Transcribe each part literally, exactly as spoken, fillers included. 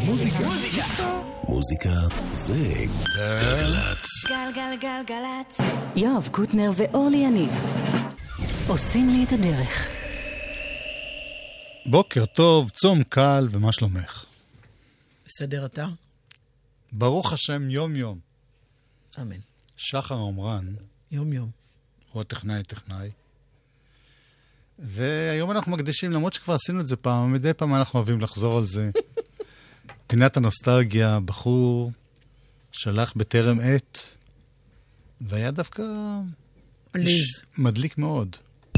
מוזיקה. מוזיקה זה גלגלצ. גלגלגלגלצ. יואב קוטנר ואורלי יניב עושים לי את הדרך. בוקר טוב, צום קל, ומה שלומך? בסדר אתה? ברוך השם יום יום. אמן. שחר עמרן. יום יום. הוא הטכנאי טכנאי. והיום אנחנו מקדישים, למרות שכבר עשינו את זה פעם, מדי פעם אנחנו אוהבים לחזור על זה. פינת הנוסטלגיה, בחור שלח בטרם עת, והיה דווקא עליז. מדליק מאוד.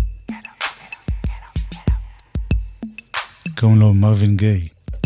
קוראים לו מרווין גיי.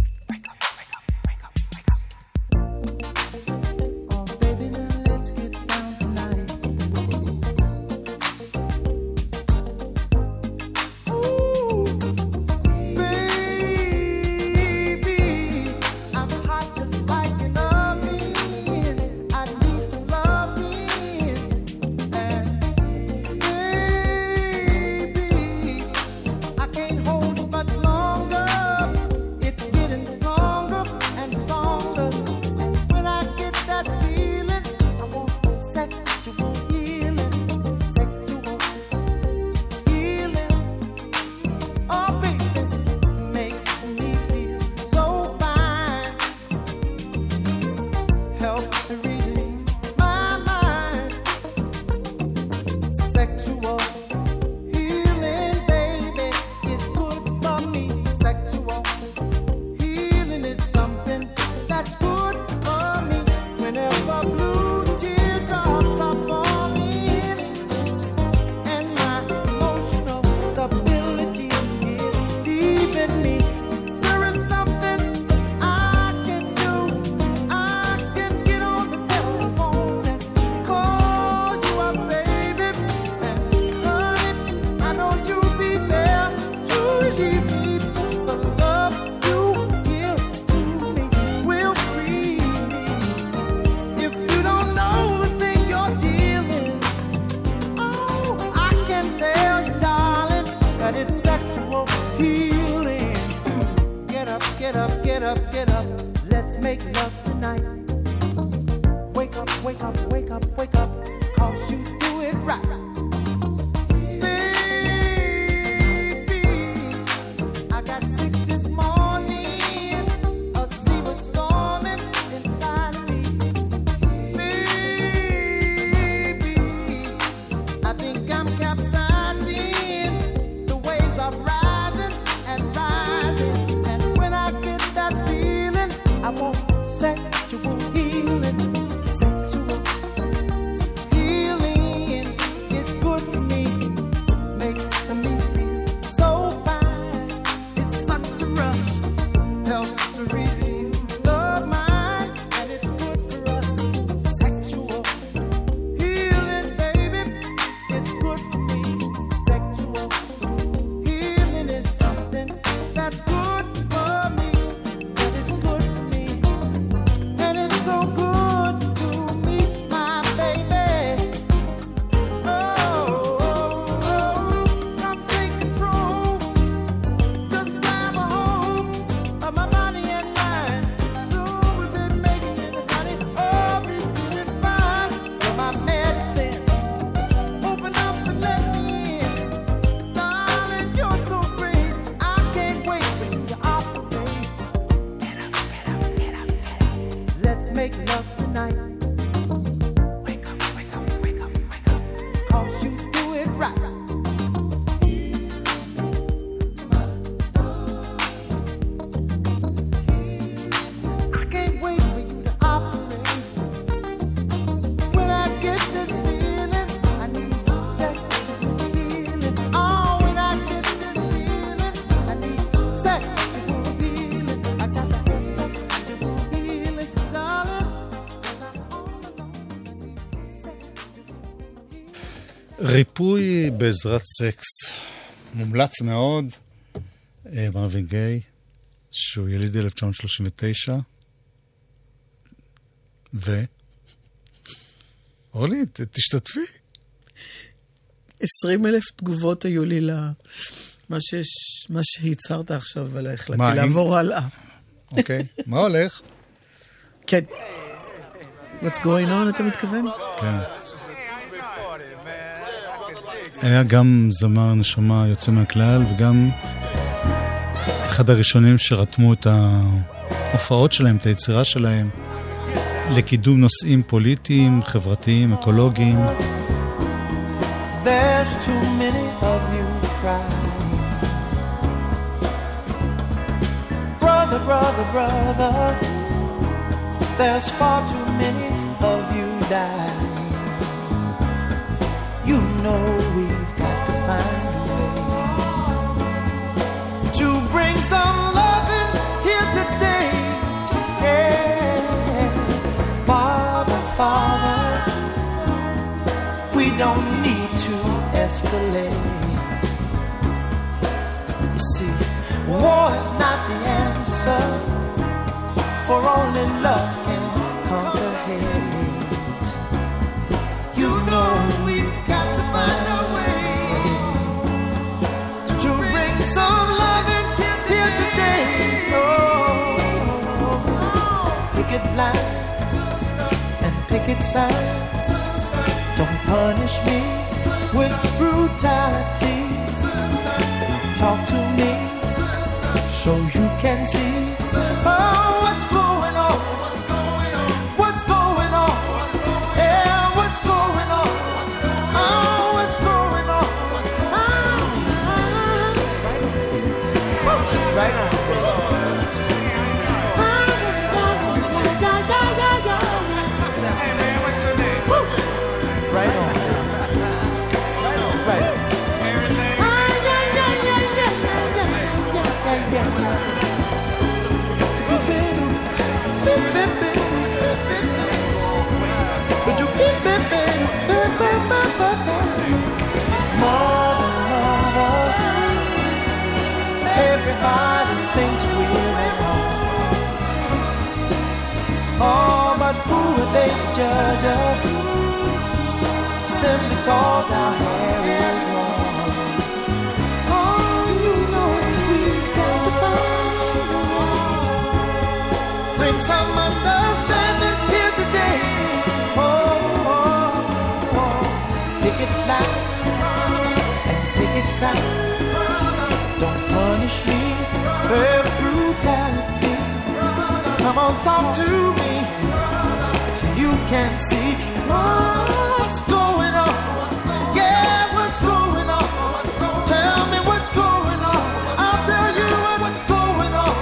ריפוי בעזרת סקס. מומלץ מאוד. מרווין גיי, שהוא יליד אלף תשע מאות שלושים ותשע. ו... אורלי, תשתתפי. עשרים אלף תגובות היו לי למה שהצהרת עכשיו, אבל החלטתי לעבור הלאה. אוקיי. מה הולך? כן. What's going on, אתה מתכוון? כן. היה גם זמר נשמה יוצא מהכלל, וגם אחד הראשונים שרתמו את ההופעות שלהם, את היצירה שלהם, לקידום נושאים פוליטיים, חברתיים, אקולוגיים. There's too many of you crying. Brother, brother, brother, there's far too many of you dying. You know we've got to find a way to bring some loving here today. Yeah. Father, Father, we don't need to escalate. You see, war is not the answer, for only love can conquer hate. You know we've got to find a way to bring some love in here today. Oh, picket lines and picket signs, don't punish me with brutality. Talk to me so you can see. Oh, what's going on? What's going on? What's going on? Yeah, what's going on? Oh, what's going on? Right on. Right on. Right on. Mother, mother, everybody thinks we're at home. Oh, but who are they to judge us? Simply cause our hair is long. Oh, you know we've got to find a way. Bring some understanding here today. Oh, oh, oh. Picket line and picket sign. Don't punish me with brutality. Come on, talk to me so you can see what's going on. Yeah, what's going on? Tell me what's going on. I'll tell you what's going on.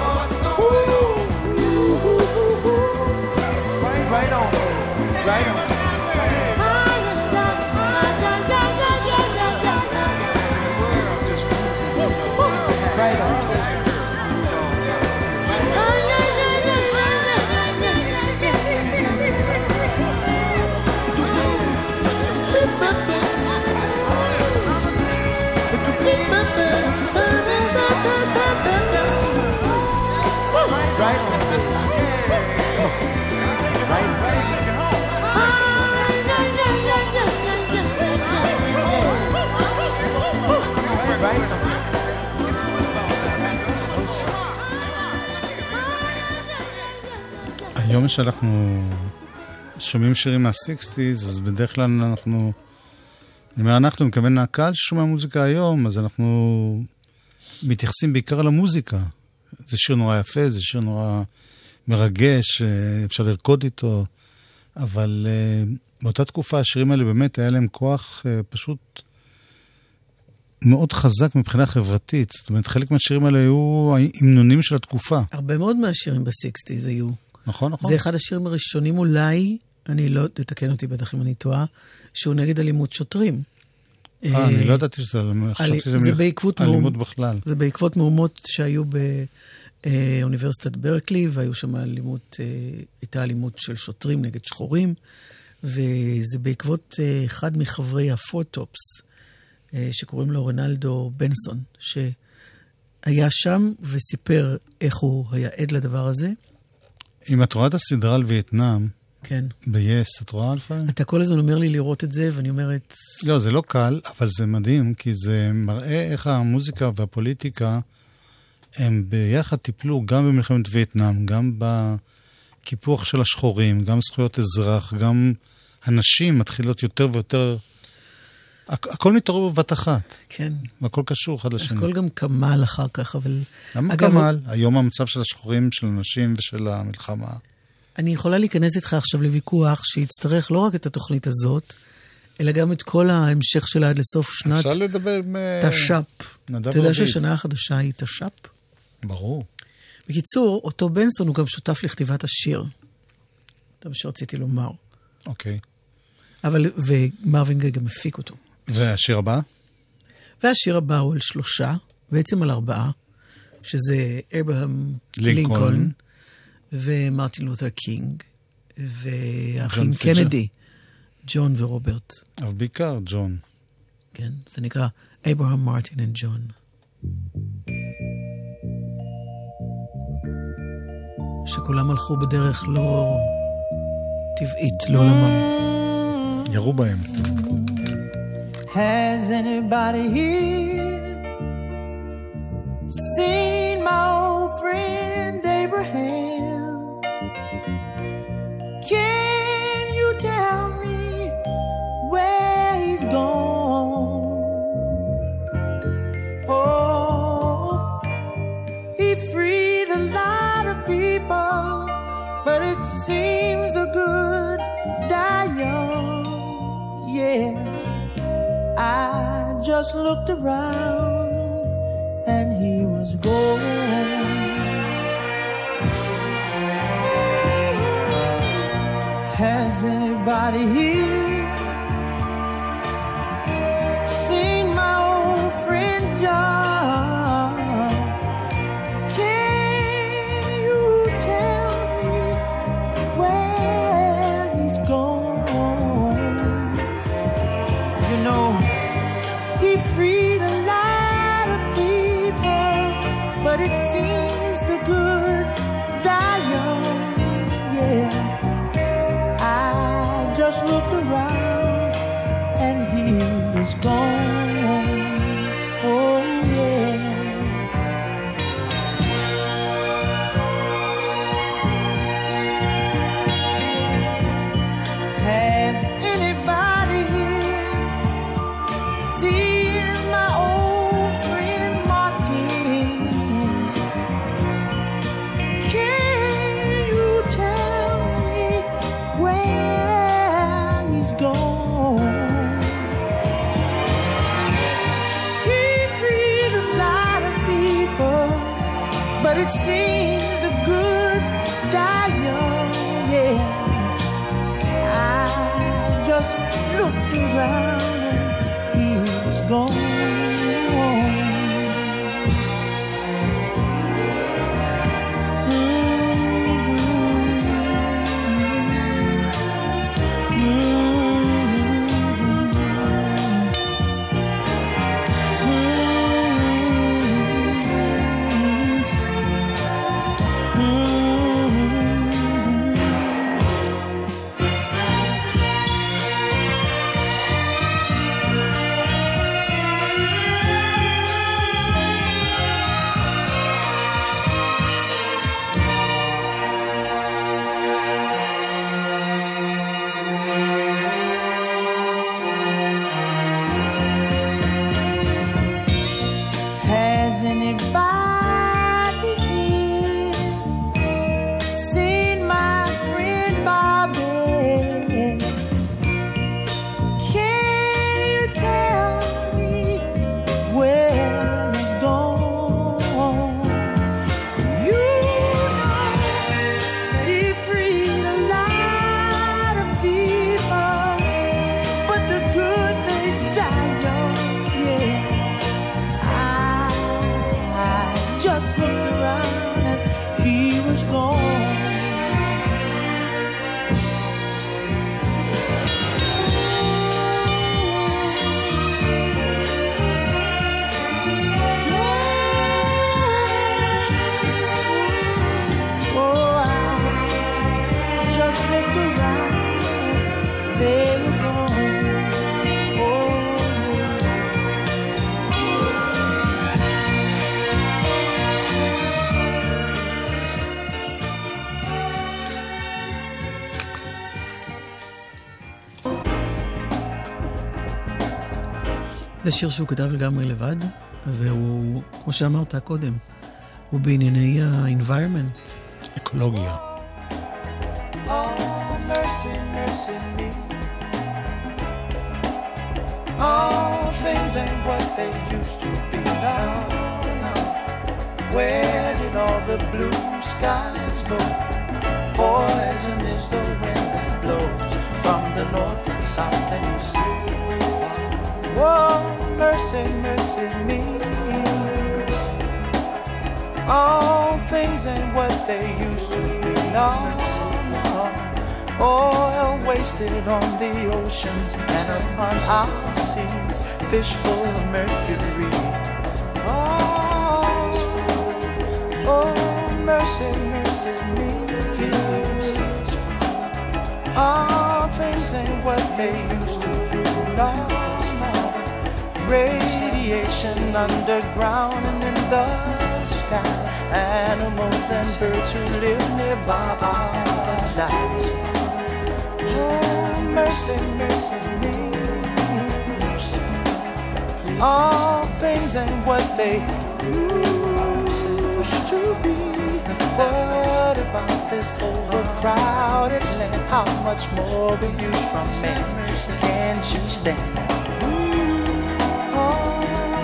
Ooh. Right on, right on. Right on. Right on. היום שאנחנו שומעים שירים מה-שישים, אז בדרך כלל אנחנו, אני אומר, אנחנו מכוון הקהל ששומע מוזיקה היום, אז אנחנו מתייחסים בעיקר למוזיקה. זה שיר נורא יפה, זה שיר נורא מרגש, אפשר לרקוד איתו, אבל באותה תקופה השירים האלה באמת היה להם כוח פשוט מאוד חזק מבחינה חברתית. זאת אומרת, חלק מהשירים האלה היו המנונים של התקופה. הרבה מאוד מהשירים ב-שישים היו. נכון, נכון. זה אחד השירים הראשונים אולי, אני לא, תתקן אותי בטח אם אני טועה, שהוא נגד אלימות שוטרים. אה, אני לא ידעתי שזה, חשבתי שזה אלימות בכלל. זה בעקבות מהומות שהיו באוניברסיטת ברקלי, והיו שם אלימות, הייתה אלימות של שוטרים נגד שחורים, וזה בעקבות אחד מחברי הפוטופס, שקוראים לו רנלדו בנסון, שהיה שם וסיפר איך הוא היה עד לדבר הזה. אם את רואה את הסדרה על וייטנאם, כן. ב-yes, את רואה לפעמים? אתה כל הזמן אומר לי לראות את זה, ואני אומרת... לא, זה לא קל, אבל זה מדהים, כי זה מראה איך המוזיקה והפוליטיקה הם ביחד טיפלו גם במלחמת וייטנאם, גם בקיפוח של השחורים, גם זכויות אזרח, גם הנשים מתחילות יותר ויותר... הכ- הכל מתערב בבת אחת. כן. והכל קשור אחד לשני. הכל גם כמל אחר כך, אבל... למה אגב, כמל? היום המצב של השחורים, של הנשים ושל המלחמה. אני יכולה להיכנס איתך עכשיו לוויכוח שיצטרך לא רק את התוכנית הזאת, אלא גם את כל ההמשך שלה עד לסוף שנת אפשר לדבר עם... תש"פ. נדב אתה יודע רביד. שהשנה החדשה היא תש"פ? ברור. בקיצור, אותו בנסון הוא גם שותף לכתיבת השיר. זה מה שרציתי לומר. אוקיי. אבל, ומרווין גיי גם הפיק אותו. והשיר הבא? והשיר הבא הוא על שלושה, בעצם על ארבעה, שזה אברהם לינקולן. לינקולן, ומרטין לותר קינג, והאחים ג'ון פיצ'ר. קנדי, ג'ון ורוברט. אבל בעיקר ג'ון. כן, זה נקרא אברהם, מרטין וג'ון. שכולם הלכו בדרך לא טבעית לעולמם. ירו בהם. Has anybody here seen my old friend Abraham? Can you tell me where he's gone? Oh, he freed a lot of people, but it seems the good die young. Yeah. I just looked around and he was gone. Has anybody here seen my old friend John? Can you tell me where he's gone? You know, he freed a lot of people, but it seems the good die young. Yeah, I just looked around and he was gone. Oh yeah. Has anybody here seen my old friend Martin? Can you tell me where he's gone? He freed a lot of people, but it seems the good die young. Yeah, I just looked around and he was gone. זה שיר שהוא כתב לגמרי לבד, והוא, כמו שאמרת קודם, הוא בענייני ה-environment. אקולוגיה. Oh, mercy, mercy me. All things ain't what they used to be now. now. Where did all the blue skies go? Poison is the wind that blows from the north and south and east. Oh, mercy, mercy me. All things ain't what they used to be now. Oil wasted on the oceans and upon our seas, fish full of mercury. Oh, oh, mercy, mercy me. All things ain't what they used to be now. Radiation underground and in the sky. Animals and birds who live nearby are dying. Oh, mercy, mercy me. All things ain't what they used to be. What about this overcrowded land? How much more will you from me? Can't you stand? Oh,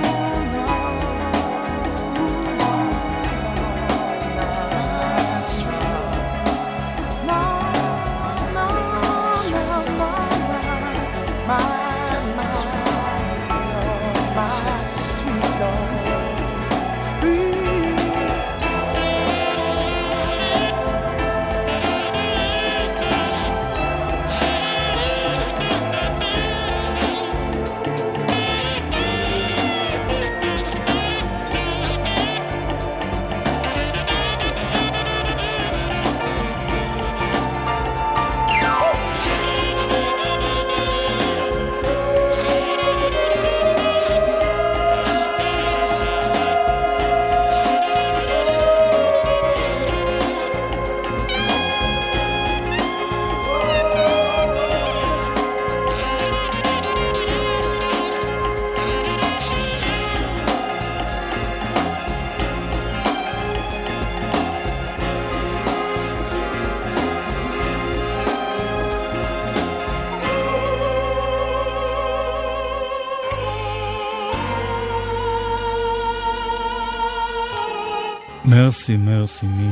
מרסי, מרסי מי.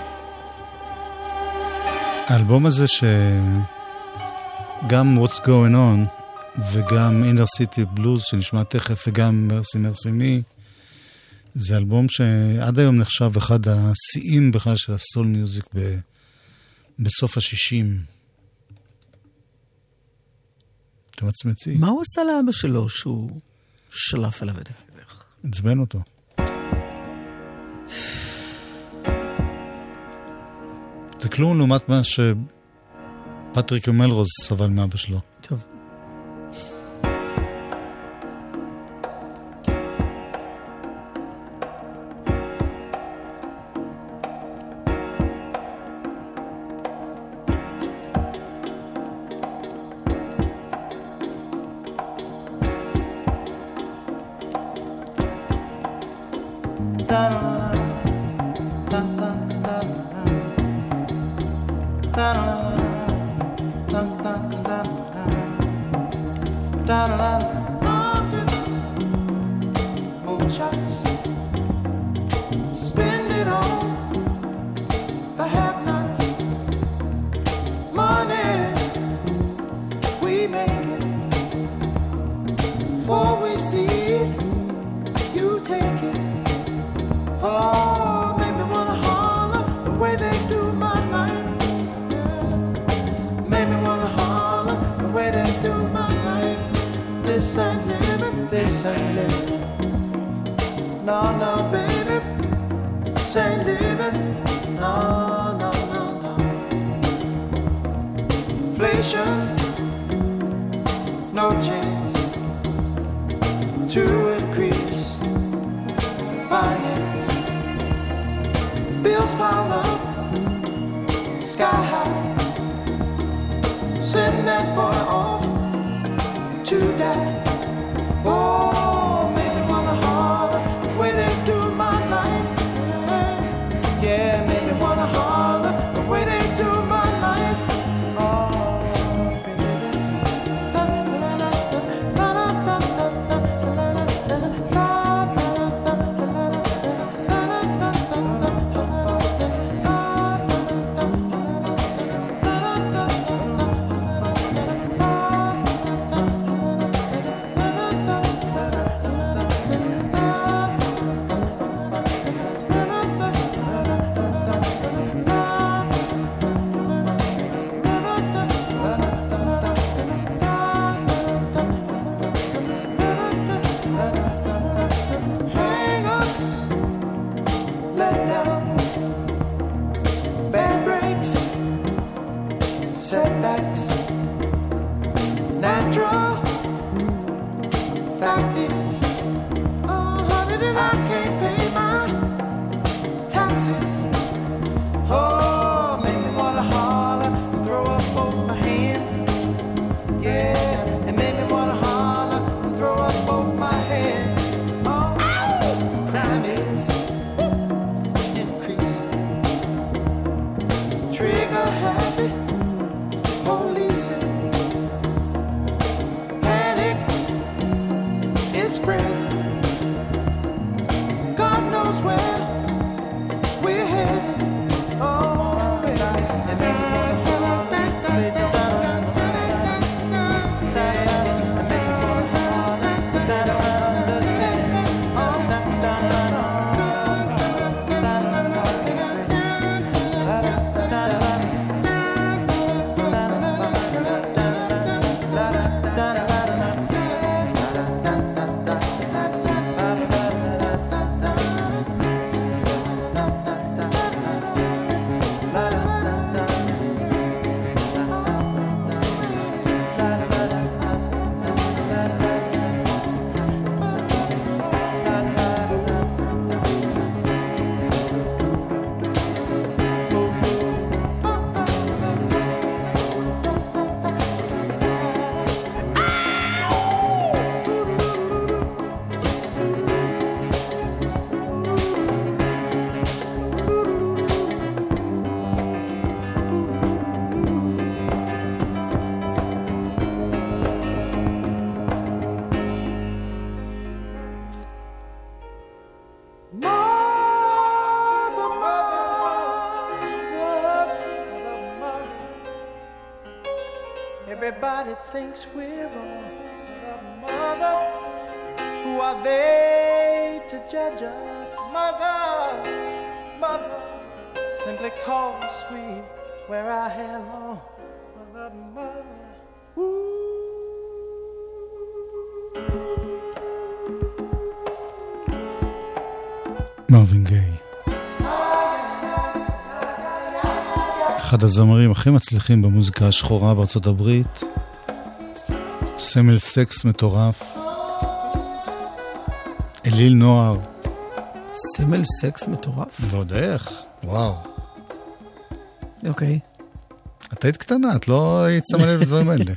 האלבום הזה שגם What's Going On וגם Inner City Blues שנשמע תכף וגם מרסי, מרסי מי, זה אלבום שעד היום נחשב אחד השיאים בכלל של הסול מיוזיק ב... בסוף השישים. אתה מצמצי. מה הוא עשה לאבא שלו שהוא שלף עליו את הדרך? עצבן אותו. זה כלום לעומת מה שפטריק מלרוז סבל מאבא שלו. טוב. Send that boy off to die. Oh, natural. Fact is, oh honey, that I can't pay my taxes. Oh, make me wanna holler and throw up both my hands. Yeah, it made me wanna holler and throw up both my hands. Oh, crime is increasing. Trigger happy, policing. Panic is spreading. God knows where we're headed. Oh, baby, and maybe they don't understand. That's and maybe they don't understand. Oh, da da da da Mother, mother, mother. Everybody thinks we're wrong. Mother, mother, who are they to judge us? Mother, mother, simply cause we wear our hair long. Mother, mother, ooh. מרווין גיי, אחד הזמרים הכי מצליחים במוזיקה השחורה בארצות הברית, סמל סקס מטורף, אליל נוער. סמל סקס מטורף? ועוד איך, וואו. אוקיי. את היית קטנה, את לא היית שמה לב לדברים האלה.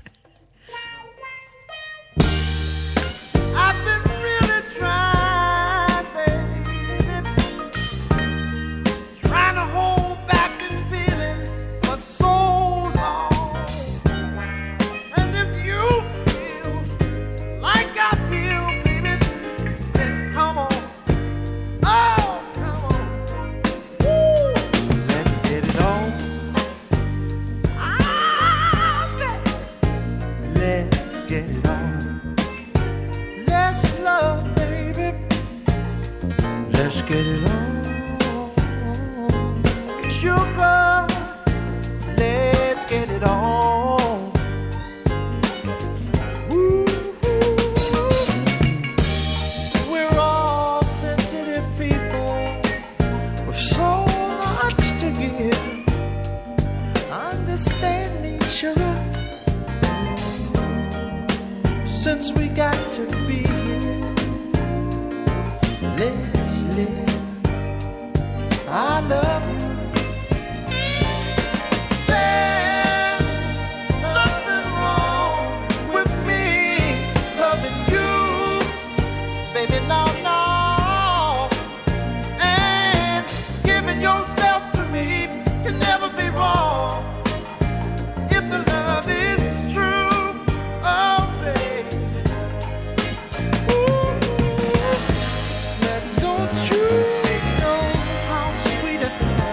Don't you know how sweet it is?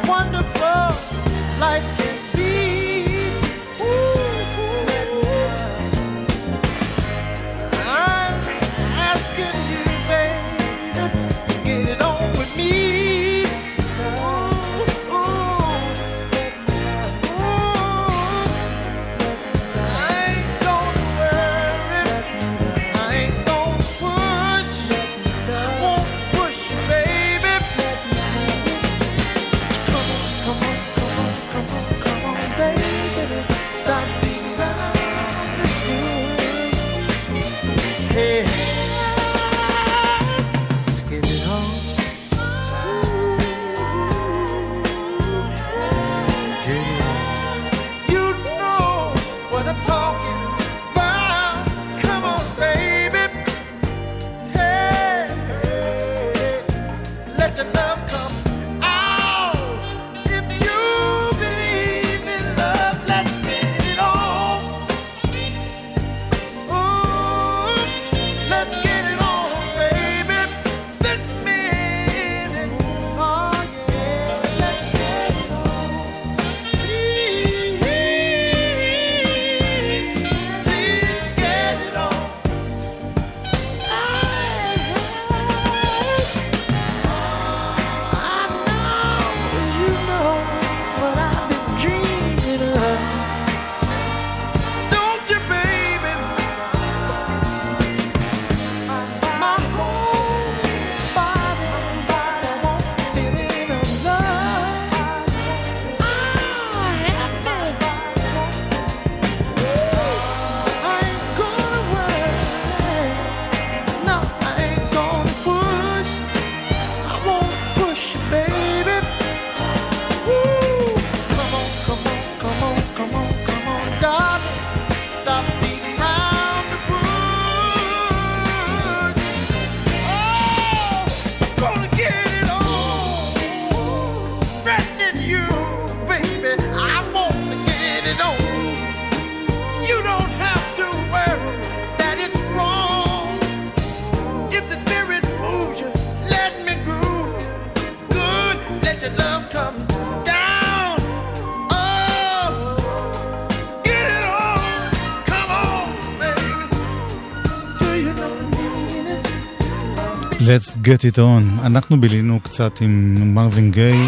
Let's get it on. אנחנו בילינו קצת עם מרווין גיי,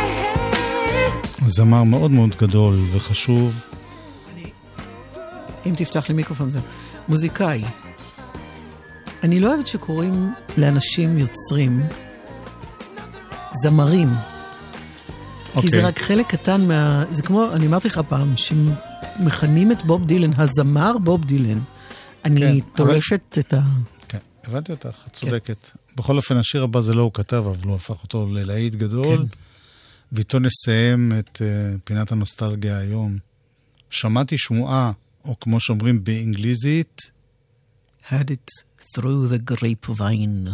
זמר מאוד מאוד גדול וחשוב. אם תפתח לי מיקרופון זה. מוזיקאי. אני לא אוהבת שקוראים לאנשים יוצרים זמרים. Okay. כי זה רק חלק קטן מה... זה כמו, אני אמרתי לך פעם, שמכנים את בוב דילן, הזמר בוב דילן. אני כן, תולשת אבל... את ה... כן, הבנתי אותך, את צודקת. כן. בכל אופן, השיר הבא זה לא הוא כתב, אבל הוא הפך אותו ללהיט גדול. כן. ואיתו נסיים את uh, פינת הנוסטלגיה היום. שמעתי שמועה, או כמו שאומרים באנגליזית, had it through the grapevine.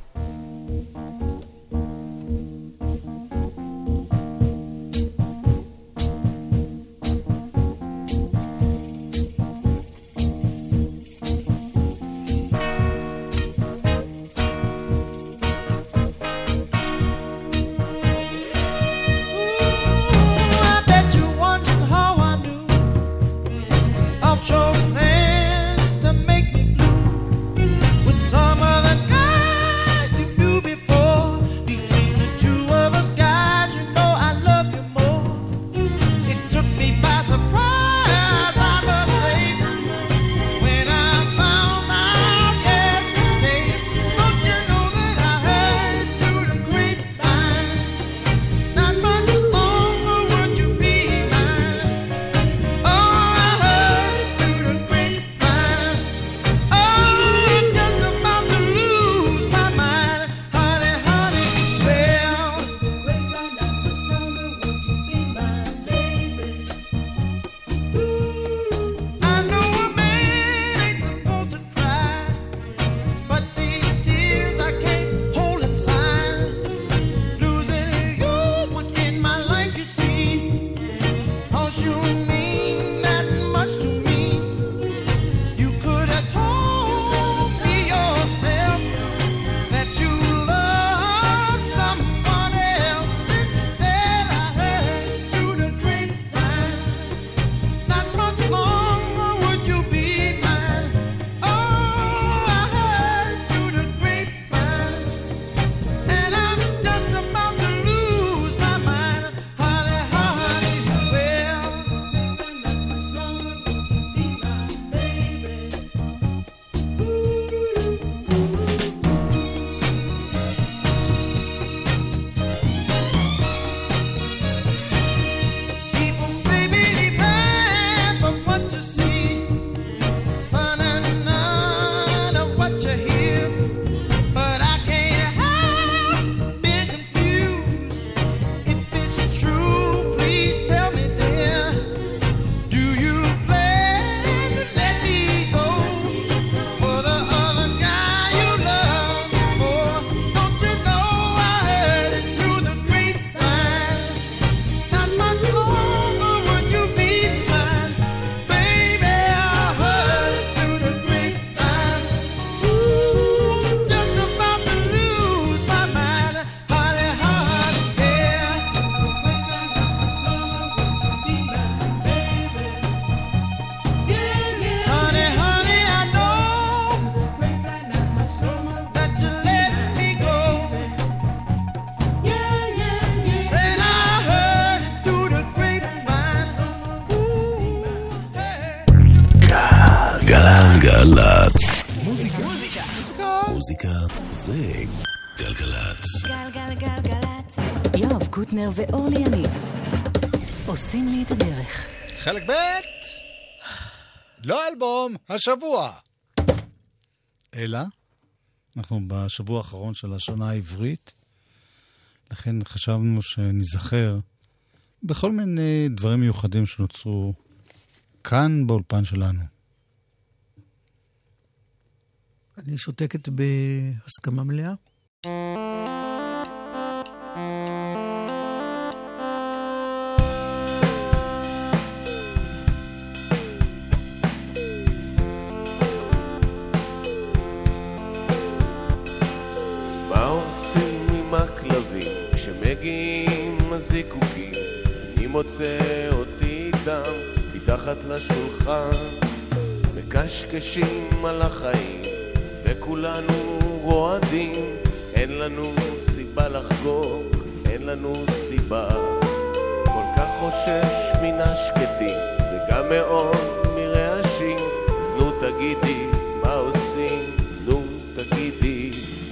גלגלצ. מוזיקה זה גלגלצ. גלגלגלגלצ. יואב קוטנר ואורלי יניב עושים לי את הדרך. חלק ב' לא אלבום השבוע, אלא אנחנו בשבוע האחרון של השנה העברית, לכן חשבנו שנזכר בכל מיני דברים מיוחדים שנוצרו כאן באולפן שלנו. אני שותקת בהסכמה מלאה. מה עושים עם הכלבים כשמגיעים הזיקוקים? אני מוצא אותי איתם מתחת לשולחן, מקשקשים על החיים וכולנו רועדים אין לנו סיבה לחגוג, אין לנו סיבה. כל כך חושש מן השקטים וגם מאוד מרעשים. אז נו תגידי מה עושים, נו תגידי.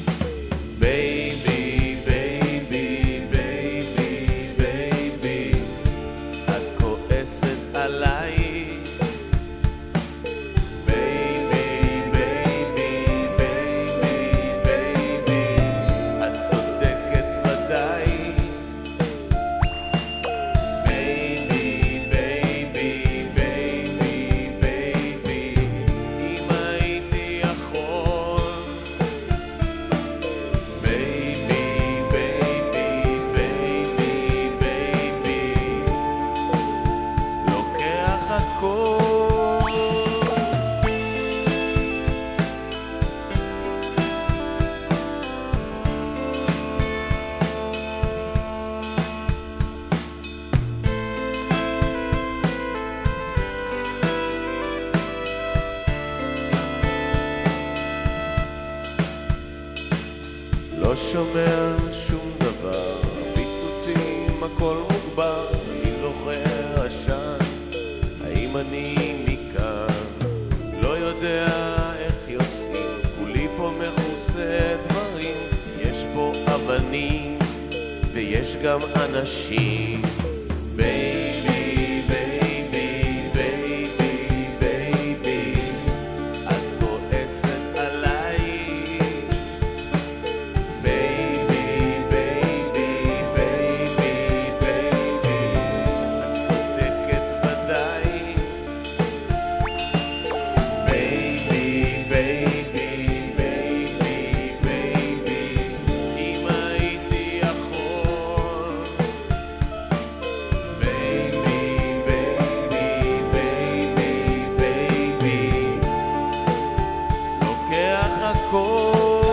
בייבי בייבי בייבי בייבי, את כועסת עליי. לא שומע שום דבר, פיצוצים הכל מוגבר. אני זוכר עשן, האם אני מכאן? לא יודע איך יוצאים, כולי פה מכוסה דברים. יש פה אבנים ויש גם אנשים. בייבי בייבי בייבי בייבי, את כועסת עליי. בייבי בייבי בייבי בייבי, את צודקת ודאי. בייבי בייבי בייבי בייבי, אם הייתי יכול. בייבי בייבי בייבי בייבי, לוקח הכל.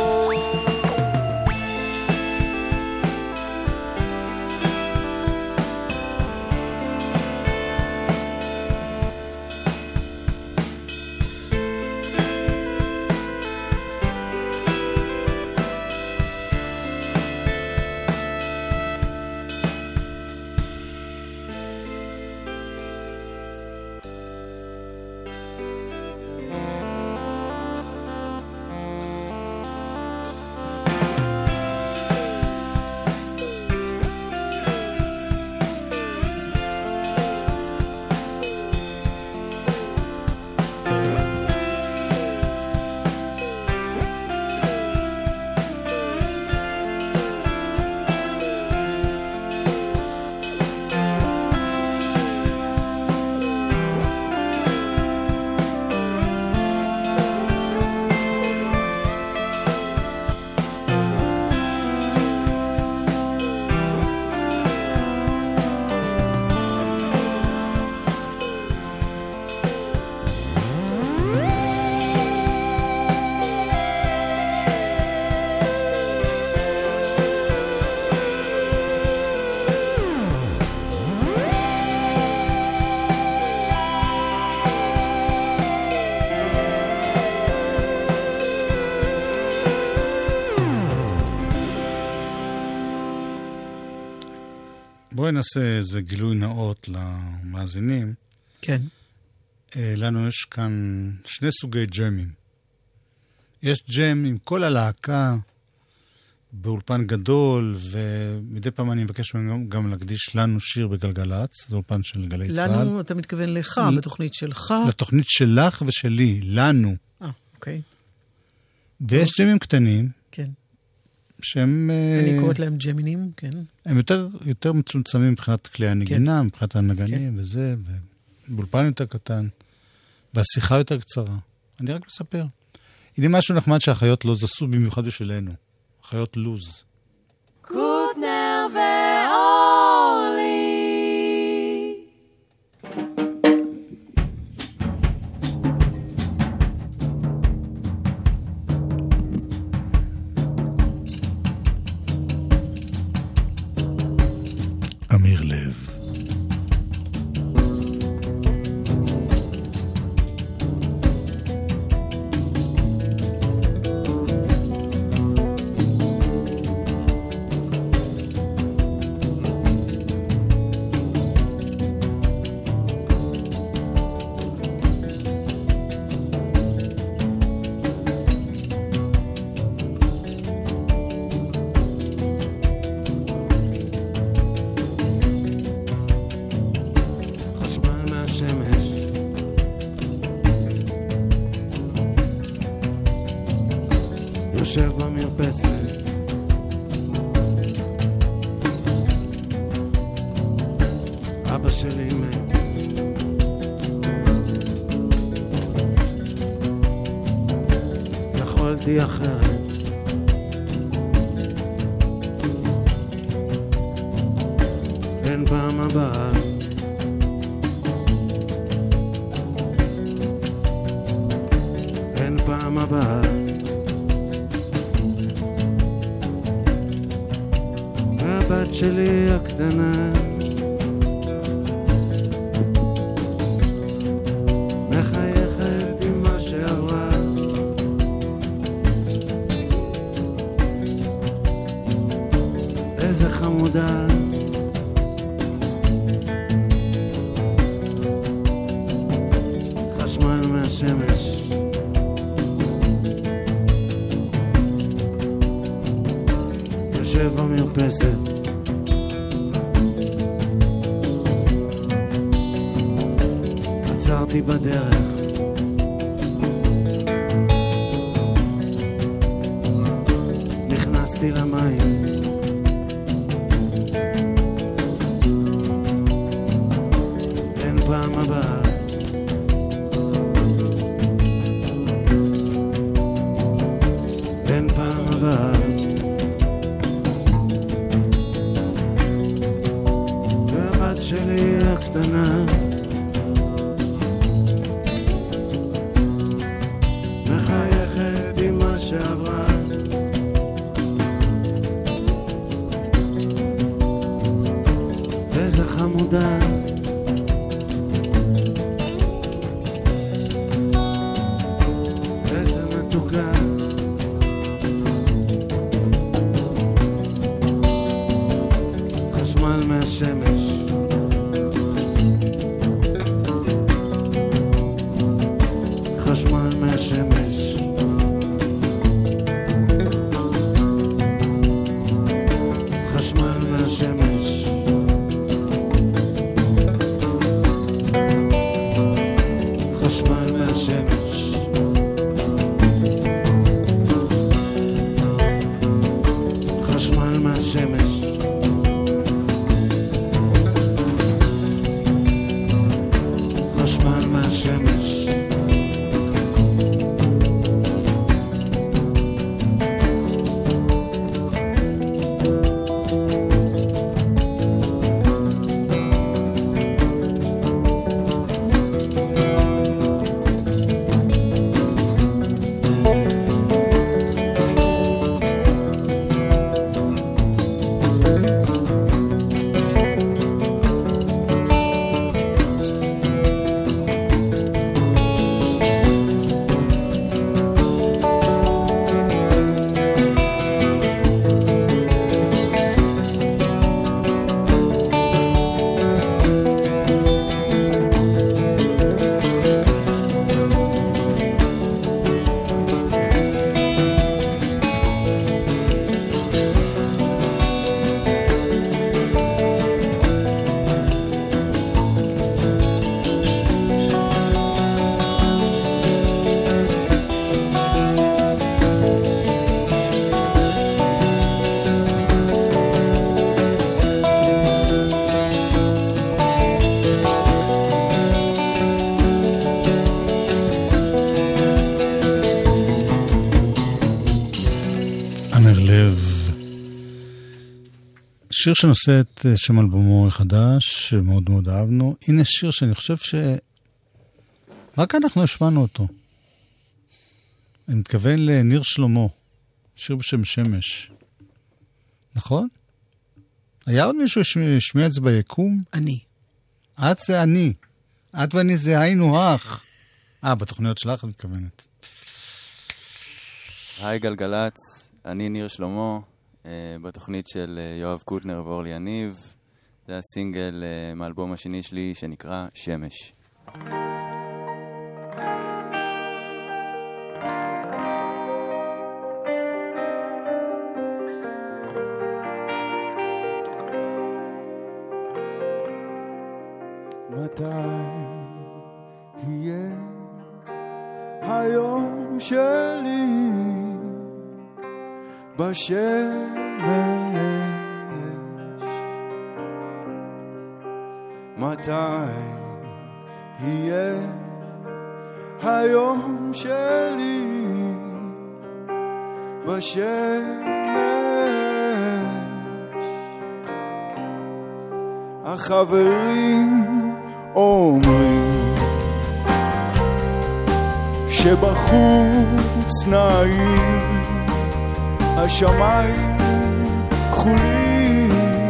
בואי נעשה איזה גילוי נאות למאזינים. כן. לנו יש כאן שני סוגי ג'מים. יש ג'ם עם כל הלהקה באולפן גדול, ומדי פעם אני מבקש גם, גם להקדיש לנו שיר בגלגלץ, זה אולפן של גלי לנו, צהל. לנו, אתה מתכוון לך, ל... בתוכנית שלך? לתוכנית שלך ושלי, לנו. אה, אוקיי. ויש ג'מים קטנים. כן. שהם... אני קוראת להם ג'מינים, כן. הם יותר, יותר מצומצמים מבחינת כלי הנגינה, כן. מבחינת הנגנים כן. וזה, ובאולפן יותר קטן, והשיחה יותר קצרה. אני רק מספר. הנה משהו נחמד שהחיות לוז עשו במיוחד בשבילנו. חיות לוז. קוטנר ואורלי. אמיר לב. יושב במרפסת, אבא שלי מת, יכולתי אחרת, אין פעם הבאה, אין פעם הבאה, והבת שלי הקטנה מחייכת עם מה שעברה, איזה חמודה, חשמל מהשמש, יושב במרפסת, עצרתי בדרך, נכנסתי למים, אין פעם הבאה, אין פעם הבאה, והבת שלי הקטנה מחייכת עם מה שעברה, איזה חמודה, איזה מתוקה, חשמל מהשמש, חשמל מהשמש, חשמל מהשמש, חשמל מהשמש, חשמל מהשמש, חשמל מהשמש, שיר שנושא את שם אלבומו החדש, שמאוד מאוד אהבנו. הנה שיר שאני חושב שרק אנחנו השמענו אותו. אני מתכוון לניר שלמה, שיר בשם שמש. נכון? היה עוד מישהו ששמיע את זה ביקום? אני. את זה אני. את ואני זה היינו אח. אה, בתוכניות שלך את מתכוונת. היי גלגלץ, אני ניר שלמה. בתוכנית של יואב קוטנר ואורלי יניב. זה הסינגל מאלבום השני שלי שנקרא שמש. מתי יהיה היום שלי בשמש. מתי יהיה היום שלי בשמש? החברים אומרים שבחוץ נעים, השמיים כחולים,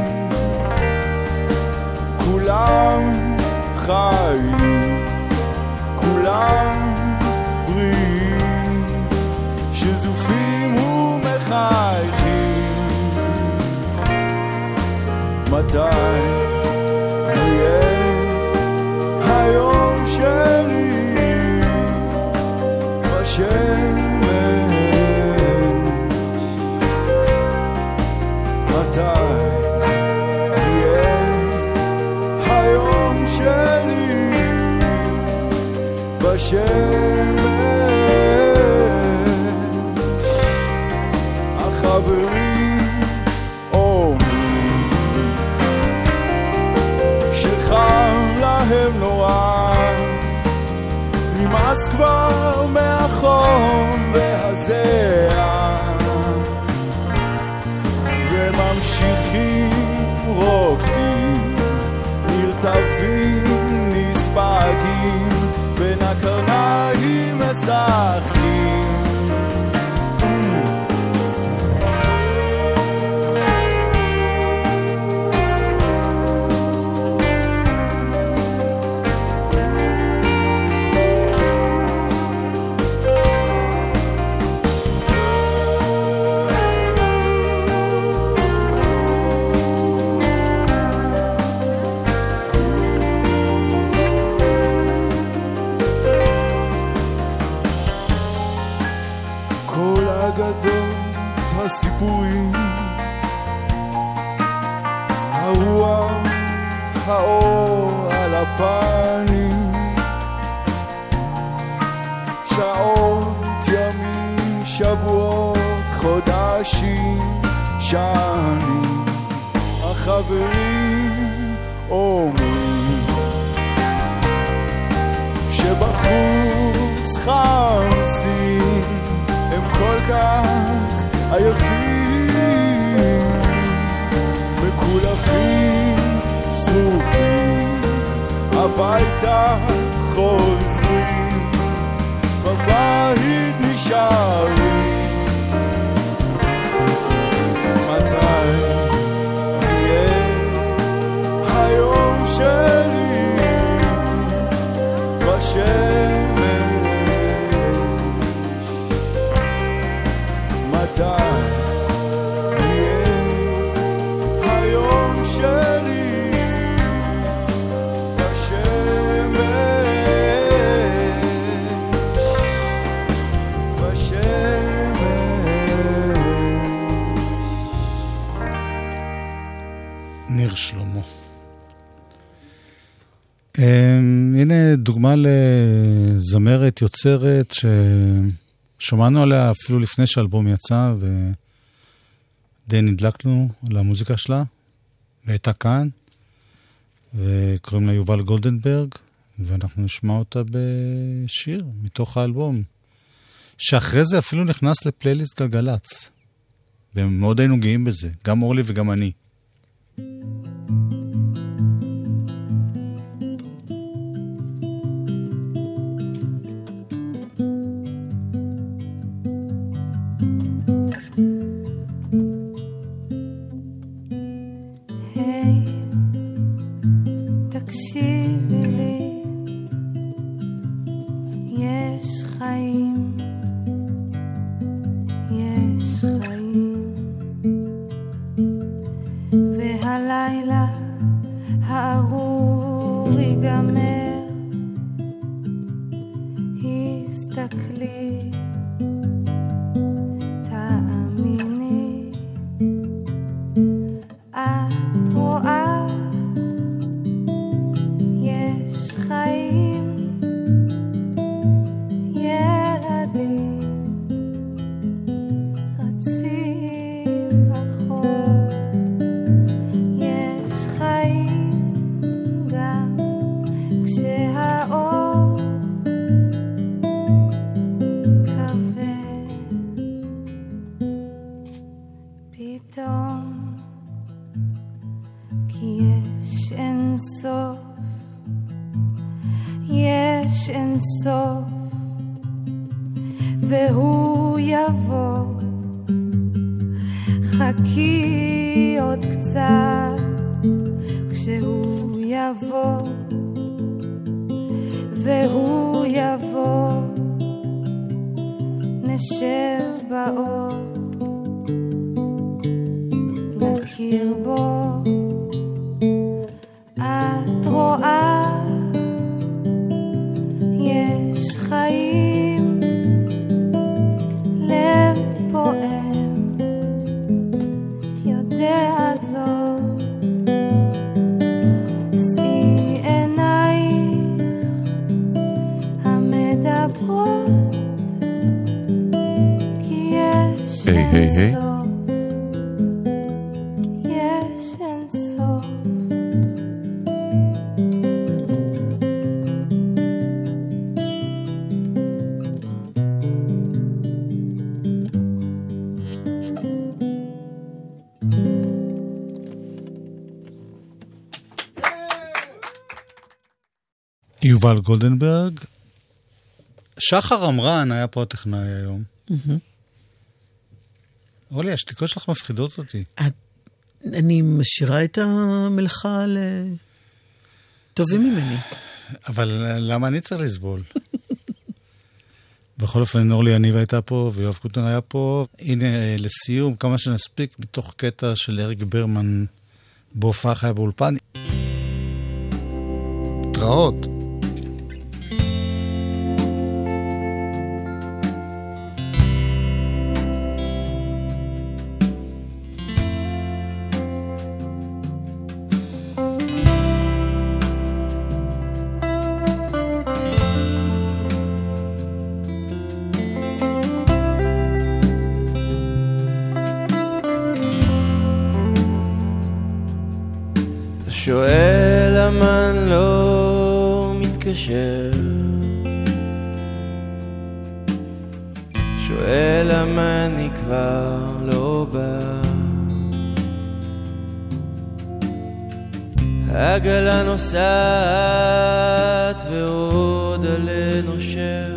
כולם חיים, כולם בריאים, שזופים ומחייכים. מתי יהיה היום שלי בשמש? מתי יהיה היום שלי בשמש? החברים אומרים שחם להם נורא, נמאס כבר מהחום והזיעה, וממשיכים רוקדים, נרטבים, נספגים, בין הקרניים משחקים. הסיפורים, הרוח, האור על הפנים, שעות, ימים, שבועות, חודשים, שנים. החברים אומרים שבחוץ חמסים, הם כל כך עייפים, מקולפים, שרופים, הביתה חוזרים, בבית נשארים. מתי יהיה היום שלי בשמש? מתי יהיה היום שלי בשמש? בשמש. ניר שלמה. הנה דוגמה לזמרת יוצרת ששמענו עליה אפילו לפני שהאלבום יצא, ודי נדלקנו על המוזיקה שלה, והייתה כאן, וקוראים לה יובל גולדנברג, ואנחנו נשמע אותה בשיר מתוך האלבום, שאחרי זה אפילו נכנס לפלייליסט גלגלץ, ומאוד היינו גאים בזה, גם אורלי וגם אני. ילדים יש אין סוף והוא יבוא, חכי עוד קצת כשהוא יבוא והוא יבוא, נשב באור נכיר בו. את רואה יש חיים, לב פועם יודע זאת, שאי עינייך המדברות, כי יש היי היי היי, יש אין סוף. יובל גולדנברג. שחר אמרן היה פה הטכנאי היום. אולי, השתיקות שלך מפחידות אותי. אני משאירה את המלאכה לטובים ממני. אבל למה אני צריך לסבול? בכל אופן, אורלי יניב הייתה פה, ויואב קוטנר היה פה. הנה, לסיום, כמה שנספיק, מתוך קטע של אריק ברמן, בהופעה חיה באולפן. התראות. שואל למה אני לא מתקשר, שואל למה אני כבר לא בא, העגלה נוסעת ועוד עלה נושר,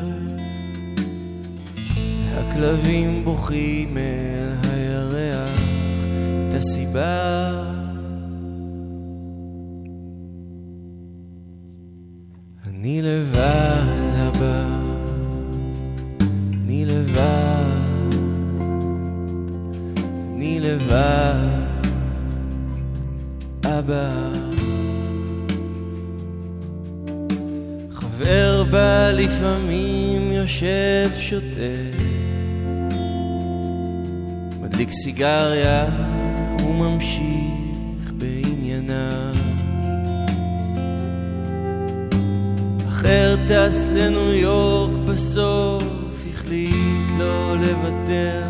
הכלבים בוכים אל הירח, את הסיבה אני לבד הבא, אני לבד, אני לבד אבא. חבר בא לפעמים יושב שותה, מדליק סיגריה וממשיך בענייניו, אחר טס לניו יורק בסוף, החליט לא לוותר,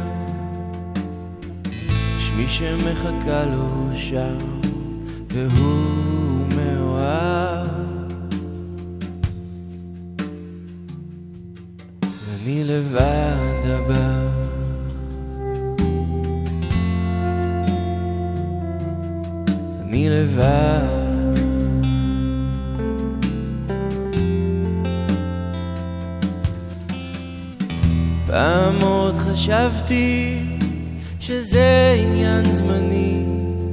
יש מי שמחכה לו שם והוא מאוהב, ואני לבד הבא, אני לבד. פעם עוד חשבתי שזה עניין זמני,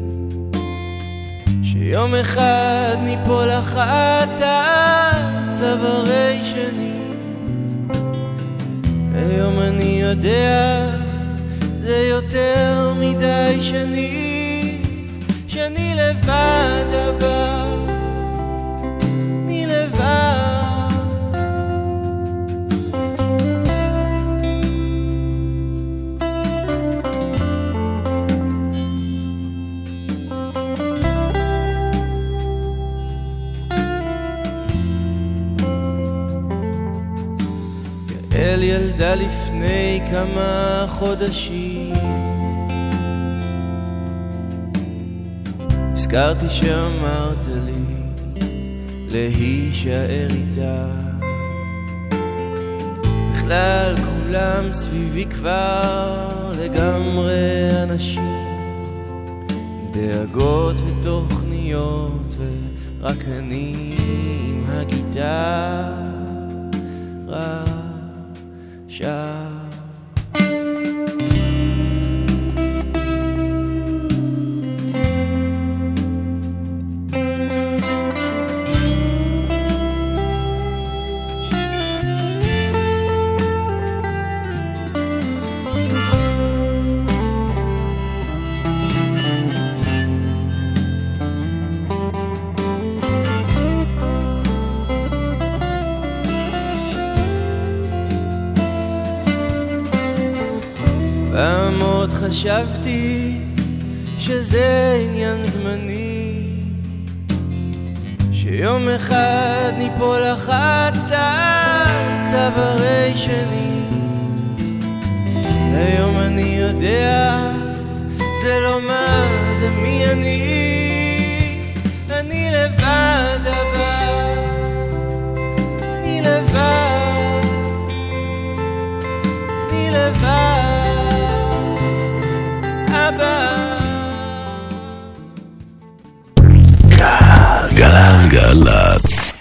שיום אחד ניפול אחת על צווארי שני, היום אני יודע זה יותר מדי שני, שאני לבד הבא, אני לבד. אל ילדה לפני כמה חודשים, הזכרתי שאמרת לי להישאר איתה, בכלל כולם סביבי כבר לגמרי אנשים, דאגות ותוכניות ורק אני עם הגיטרה, חשבתי שזה עניין זמני, שיום אחד ניפול אחת על צווארי שני. היום אני יודע זה לא מה, זה מי אני. אני לבד הבא, אני לבד, אני לבד הבא. גלגלצ